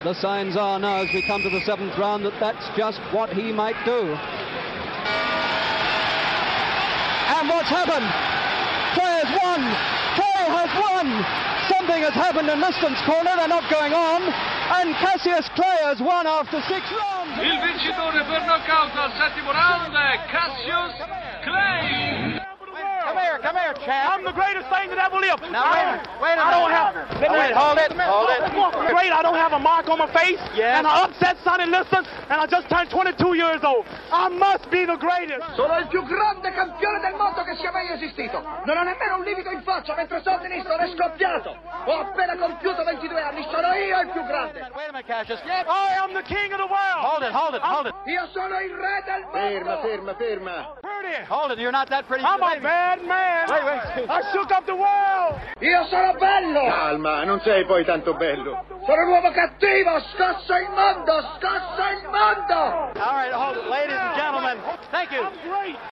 The signs are now, as we come to the seventh round, that that's just what he might do. And what's happened? Clay has won! Clay has won! Something has happened in Liston's corner, they're not going on. And Cassius Clay has won after 6 rounds. Il vincitore per knockout al settimo round è Cassius Clay. Come here, champ. I'm the greatest thing that ever lived. Now, wait a minute. Hold it. Great, I don't have a mark on my face. Yes. And I upset Sonny Liston, and I just turned 22 years old. I must be the greatest. Sono il più grande campione del mondo che sia mai esistito. Non ho nemmeno un livido in faccia mentre Sonny Liston è scoppiato. Ho appena compiuto 22 anni. Sono io il più grande. Wait a minute, Cassius. I am the king of the world. Hold it. Io sono il re del mondo. Ferma. Hold it, you're not that pretty. I'm a bad man. Wait. I shook up the world. Io sono bello. Calma, non sei poi tanto bello. Sono un uomo cattivo. Scosso il mondo. All right, hold it. Ladies and gentlemen, thank you. I'm great.